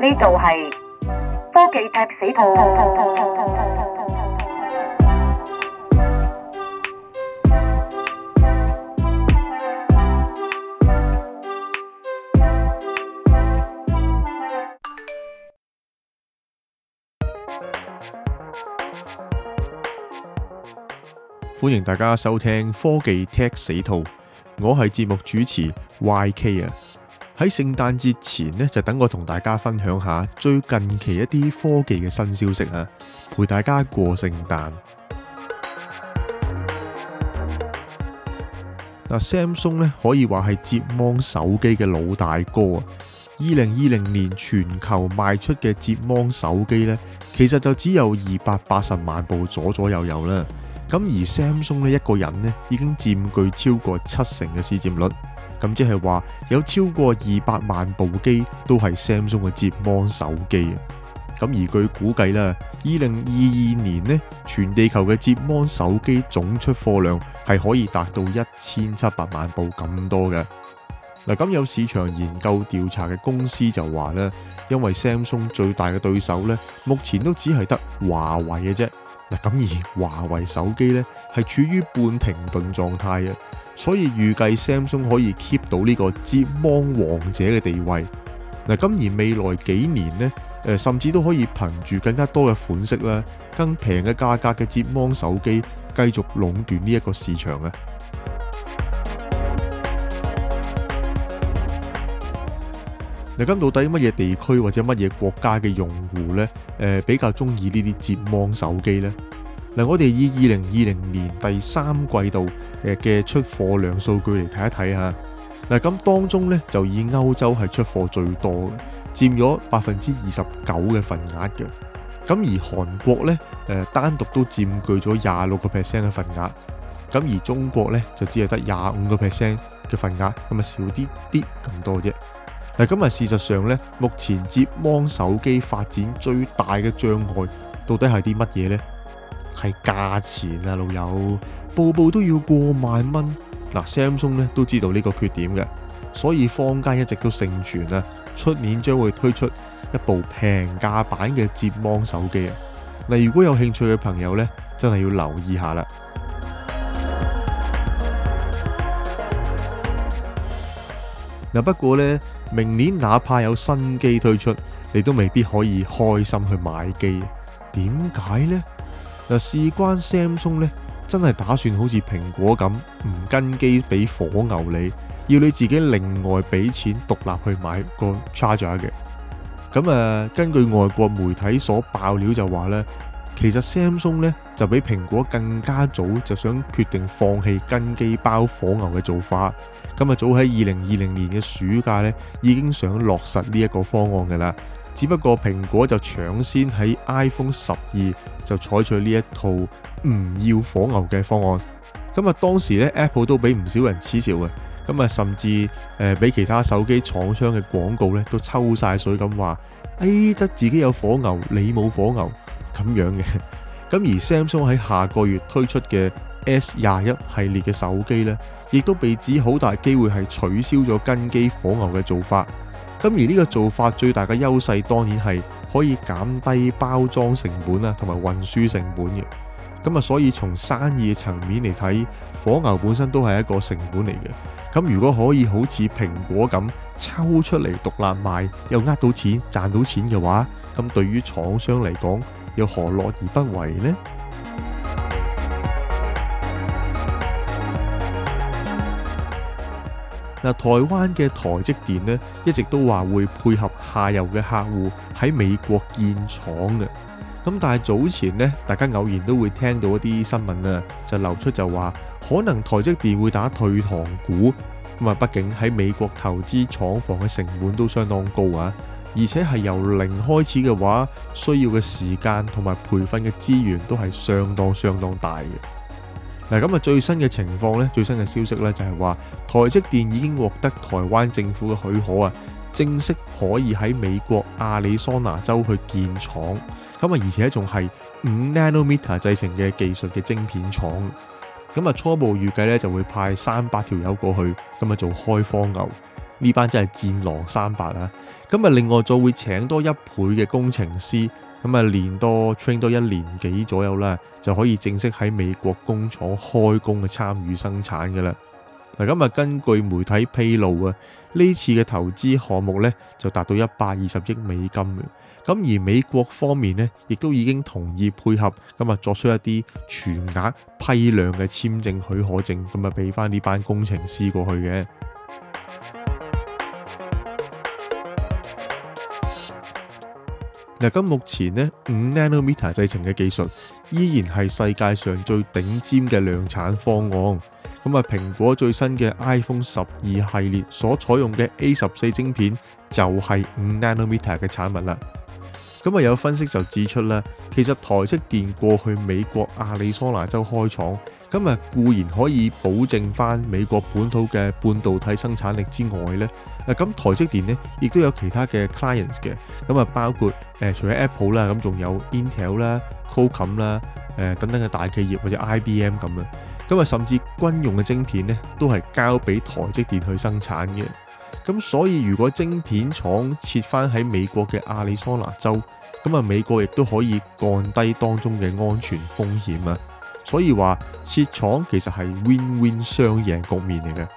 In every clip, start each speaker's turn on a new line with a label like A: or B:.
A: 呢度係科技踢死兔。
B: 歡迎大家收聽科技踢死兔，我係節目主持 YK 啊。喺聖誕節前呢，就等我同大家分享下最近期一啲科技嘅新消息啊，陪大家過聖誕。Samsung 呢可以話係摺芒手機嘅老大哥啊。2020年全球賣出嘅摺芒手機呢，其實就只有280萬部左右啦。咁而 Samsung 呢一個人呢已經佔據超過70%嘅市佔率，咁即係話有超過200萬部機都係 Samsung 嘅摺芒手機啊。咁而據估計啦，2022年呢全地球嘅摺芒手機總出貨量係可以達到1700萬部咁多嘅。咁有市場研究調查嘅公司就話咧，因為 Samsung 最大嘅對手呢目前都只係得華為嘅啫。咁而華為手機呢係處於半停頓狀態啊，所以預計 Samsung 可以 keep 到呢個摺芒王者嘅地位。咁而未來幾年呢，甚至都可以憑住更加多嘅款式啦，更平嘅價格嘅摺芒手機繼續壟斷呢一個市場啊。咁到底乜嘢地區或者乜嘢國家嘅用戶呢？比較中意呢啲摺芒手機呢？我哋以2020年第3季度嘅出貨量數據嚟睇一睇下。咁當中呢，就以歐洲係出貨最多嘅，佔咗29%嘅份額嘅。咁而韓國呢，單獨都佔據咗26% 嘅份額。咁而中國呢，就只係得25% 嘅份額，咁啊少啲咁多啫。咁事實上呢，目前摺芒手機發展最大嘅障礙到底係啲乜嘢呢？係價錢啊，老友，部部都要過萬蚊。Samsung 呢都知道呢個缺點嘅，所以坊間一直都盛傳啊，出年將會推出一部平價版嘅摺芒手機啊。如果有興趣嘅朋友呢，真係要留意下啦。不過呢，明年哪怕有新機推出，你都未必可以開心去買機。點解呢？事關 Samsung 呢，真係打算好似蘋果咁，唔跟機俾火牛你，要你自己另外俾錢獨立去買個 charger 嘅。咁根據外國媒體所爆料就話呢，其實 Samsung 呢就比蘋果更加早就想決定放棄跟機包火牛嘅做法。早喺2020年嘅暑假呢，已經想落實呢一個方案㗎啦。只不過蘋果就搶先喺 iPhone 12就採取呢一套唔要火牛嘅方案。當時呢 Apple 都俾唔少人恥笑嘅。甚至俾其他手機廠商嘅廣告呢都抽晒水咁話，得自己有火牛，你冇火牛咁樣嘅。而 Samsung 喺下個月推出嘅 S21系列嘅手機呢，亦都被指好大機會係取消咗跟機火牛嘅做法。而呢個做法最大嘅優勢當然係可以減低包裝成本啊，同埋運輸成本嘅。所以從生意嘅層面嚟睇，火牛本身都係一個成本嚟嘅。如果可以好似蘋果咁抽出嚟獨立賣，又呃到錢賺到錢嘅話，咁對於廠商嚟講，又何樂而不為呢？台灣嘅台積電呢，一直都話會配合下游嘅客戶喺美國建廠嘅。但係早前呢，大家偶然都會聽到一啲新聞啊，就流出就話可能台積電會打退堂鼓。畢竟喺美國投資廠房嘅成本都相當高啊，而且係由零開始嘅話，需要嘅時間同埋培訓嘅資源都係相當大嘅。最新嘅情況呢，最新嘅消息呢，就係話台積電已經獲得台灣政府嘅許可啊，正式可以喺美國亞利桑那州去建廠。而且仲係5 nanometer 製程嘅技術嘅晶片廠。初步預計呢，就會派300條友過去，做開荒牛。 呢班真係戰狼300啊！咁啊，另外再會請多1倍嘅工程師，咁啊練多 train 多1年幾左右啦，就可以正式喺美國工廠開工嘅參與生產嘅啦。嗱，咁啊根據媒體披露啊，呢次嘅投資項目咧就達到120億美金嘅。咁而美國方面咧，亦都已經同意配合，咁啊作出一啲全額批量嘅簽證許可證，咁啊俾翻呢班工程師過去嘅。嗱，咁目前咧5 nanometer 製程嘅技術依然係世界上最頂尖嘅量產方案。咁啊，蘋果最新嘅 iPhone 12系列所採用嘅 A14 晶片就係5 nanometer 嘅產物啦。咁啊，有分析就指出啦，其實台積電過去美國亞利桑那州開廠，咁啊固然可以保證翻美國本土嘅半導體生產力之外咧，咁台積電咧亦都有其他嘅 clients 嘅，咁啊包括除咗 Apple 啦，咁仲有 Intel 啦、Qualcomm 啦、等等嘅大企業或者 IBM 咁啦，咁啊甚至軍用嘅晶片咧都係交俾台積電去生產嘅。咁所以如果晶片廠設翻喺美國嘅亞利桑那州，咁啊美國亦都可以降低當中嘅安全風險啊。所以話設廠其實係 win-win 雙贏局面嚟嘅。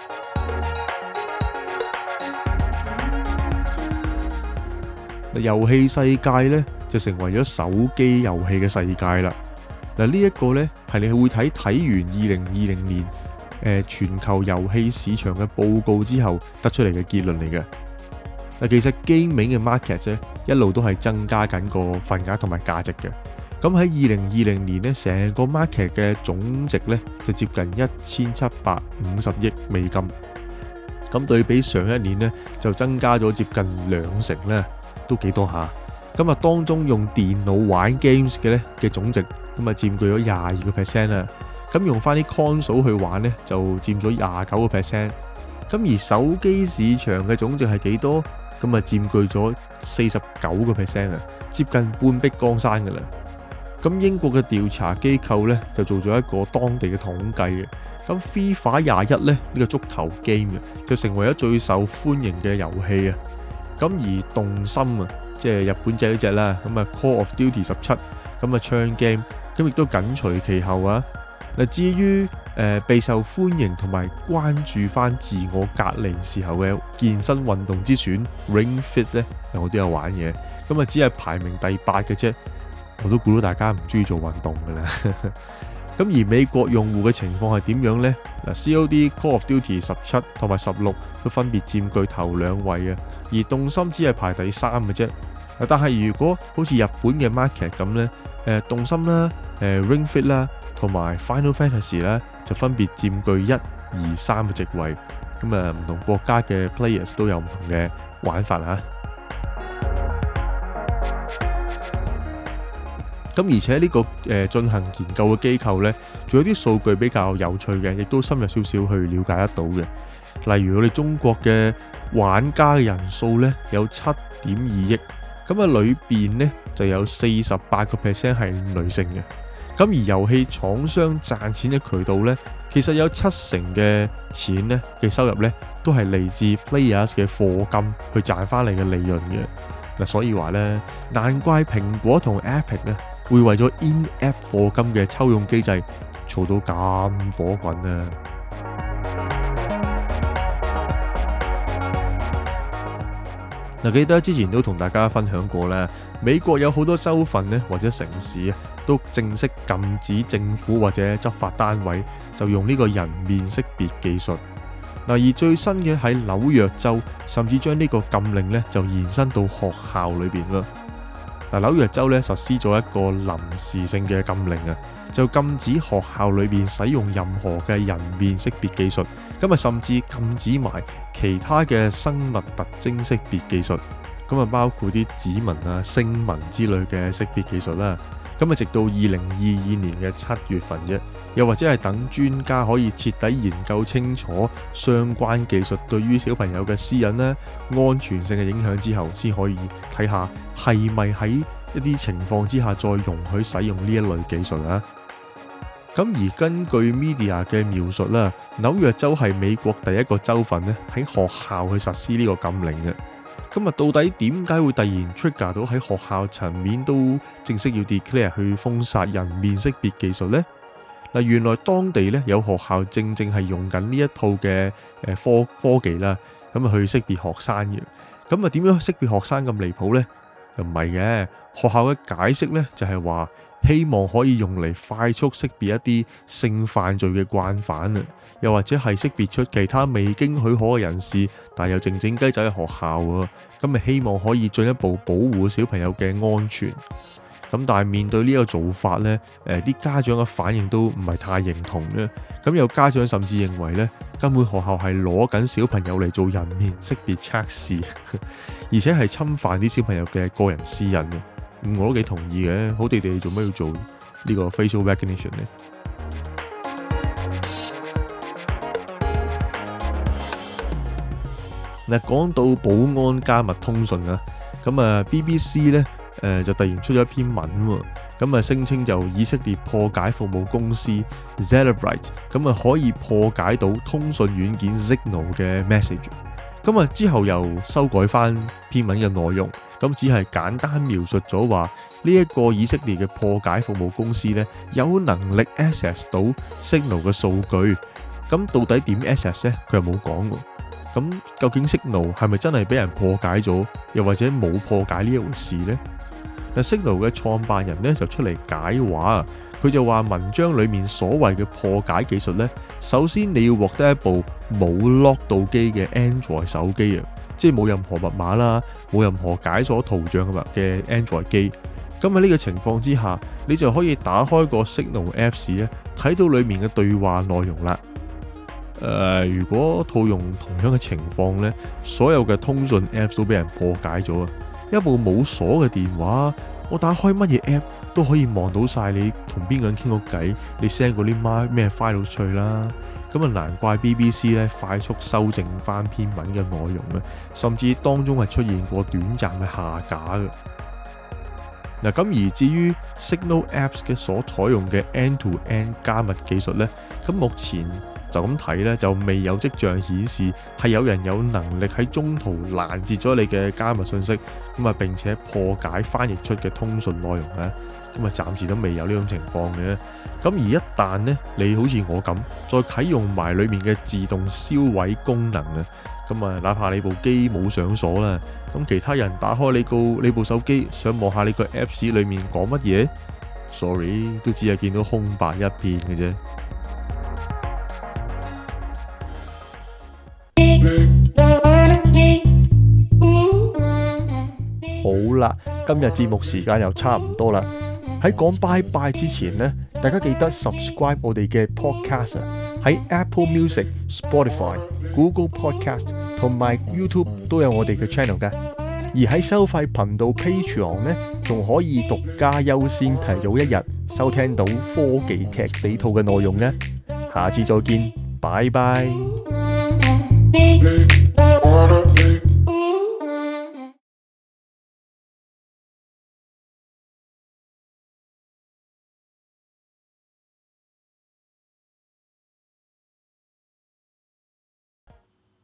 B: 遊戲世界咧就成為咗手機遊戲嘅世界啦。嗱，呢一個咧係你會睇完2020年全球遊戲市場嘅報告之後得出嚟嘅結論嚟嘅。嗱，其實 gaming 嘅 market 啫一路都係增加緊個份額同埋價值嘅。咁喺2020年咧，成個 market 嘅總值咧就接近1750億美金。咁對比上一年咧就增加咗接近2成咧，都幾多下。咁啊當中用電腦玩 games 嘅咧嘅總值咁啊佔據咗22% 啦。咁用翻啲 console 去玩咧就佔咗29%。咁而手機市場嘅總值係幾多？咁啊佔據咗49% 啊，接近半壁江山噶啦。咁英國嘅調查機構咧就做咗一個當地嘅統計嘅。咁 FIFA 21咧呢個足球 game 就成為咗最受歡迎嘅遊戲啊。咁而動森啊，即係日本仔嗰隻啦，咁啊 Call of Duty 17，咁啊槍 game，咁亦都緊隨其後啊。嗱，至於備受歡迎同埋關注翻自我隔離時候嘅健身運動之選 Ring Fit 咧，我都有玩嘅，咁啊只係排名第8嘅啫。我都估到大家唔中意做運動噶啦。咁而美國用戶嘅情況係點樣呢？嗱 ，COD Call of Duty 17同埋16都分別佔據頭2位啊，而動森只係排第3嘅啫。但係如果好似日本嘅 market 咁呢，動森啦、Ring Fit 啦同埋 Final Fantasy 啦，就分別佔據1、2、3嘅席位。咁啊，唔同國家嘅 players 都有唔同嘅玩法啊。咁而且呢個進行研究嘅機構呢，仲有啲數據比較有趣嘅，亦都深入少少去了解得到嘅。例如我哋中國嘅玩家嘅人數呢，有7.2億，咁啊裏邊呢就有48% 係女性嘅。咁而遊戲廠商賺錢嘅渠道呢，其實有70%嘅錢呢嘅收入呢，都係嚟自 players 嘅課金去賺翻嚟嘅利潤嘅。嗱，所以話呢，難怪蘋果同 Epic 呢會為咗 in-app 課金嘅抽佣機制嘈到咁火滾啊！嗱，記得之前都同大家分享過啦，美國有好多州份呢或者城市啊，都正式禁止政府或者執法單位就用呢個人面識別技術。嗱，而最新嘅喺紐約州，甚至將呢個禁令呢就延伸到學校裏邊啦。嗱，紐約州咧實施咗一個臨時性嘅禁令啊，就禁止學校裏邊使用任何嘅人面識別技術，咁啊甚至禁止埋其他嘅生物特徵識別技術，咁啊包括啲指紋啊、聲紋之類嘅識別技術啦。咁啊直到2022年嘅7月份啫，又或者係等專家可以徹底研究清楚相關技術對於小朋友嘅私隱啦、安全性嘅影響之後，先可以睇下係咪喺一啲情況之下再容許使用呢一類技術啊。 咁而根據 media 嘅描述啦，紐約州係美國第一個州份咧喺學校去實施呢個禁令嘅。咁啊，到底點解會突然 trigger 到喺學校層面都正式要 declare 去封殺人面識別技術呢？嗱，原來當地咧有學校正係用緊呢一套嘅科技啦，咁啊去識別學生嘅。咁啊點樣識別學生咁離譜呢？又唔係嘅，學校嘅解釋咧就係話，希望可以用嚟快速識別一啲性犯罪嘅慣犯啊，又或者係識別出其他未經許可嘅人士，但又靜靜雞走喺學校喎，咁咪希望可以進一步保護小朋友嘅安全。咁但係面對呢個做法呢，啲家長嘅反應都唔係太認同嘅。咁有家長甚至認為呢，根本學校係攞緊小朋友嚟做人面識別測試，而且係侵犯啲小朋友嘅個人私隱嘅。我都幾同意嘅，好地地做咩要做呢個 facial recognition 呢？嗱，講到保安加密通訊啊，咁啊 BBC 呢就突然出咗一篇文喎，咁啊聲稱就以色列破解服務公司 Cellebrite， 咁啊可以破解到通訊軟件 Signal 嘅 message， 咁啊之後又修改翻篇文嘅內容，咁只係簡單描述咗話呢一個以色列嘅破解服務公司呢，有能力 access 到 Signal 嘅數據，咁到底點 access 呢？佢又冇講喎。咁究竟 Signal 係咪真係俾人破解咗，又或者冇破解呢一回事呢？嗱，Signal 嘅創辦人咧就出嚟解話，佢就話文章裡面所謂嘅破解技術咧，首先你要獲得一部冇 lock 到機嘅 Android 手機啊，即係冇任何密碼啦，冇任何解鎖圖像嘅 Android 機。咁喺呢個情況之下，你就可以打開個 Signal Apps 咧，睇到裡面嘅對話內容啦。如果套用同樣嘅情況咧，所有嘅通訊 Apps 都俾人破解咗啊！一部冇鎖嘅電話，我打開乜嘢 app 都可以望到晒你同邊個人傾過偈，你 send 嗰啲咩 file 出去啦。咁啊，難怪 BBC 咧快速修正翻篇文嘅內容咧，甚至當中係出現過短暫嘅下架嘅。嗱，咁而至於 Signal Apps 嘅所採用嘅 end-to-end 加密技術咧，咁目前就咁睇咧，就未有跡象顯示係有人有能力喺中途攔截咗你嘅加密信息，咁啊並且破解翻譯出嘅通訊內容咧，咁啊暫時都未有呢種情況嘅。咁而一旦咧你好似我咁，再啟用埋裡面嘅自動銷毀功能啊，咁啊哪怕你部機冇上鎖啦，咁其他人打開你部手機想望下你個 Apps 裡面講乜嘢 ，sorry 都只係見到空白一片嘅啫。好啦，今日節目時間又差唔多啦。喺講拜拜之前呢，大家記得 subscribe 我哋嘅 podcast 喺 Apple Music、Spotify、Google Podcast 同埋 YouTube 都有我哋嘅 channel 噶。而喺收費頻道 Patreon 呢，仲可以獨家優先提早一日收聽到科技踢死兔嘅內容呢。下次再見，拜拜。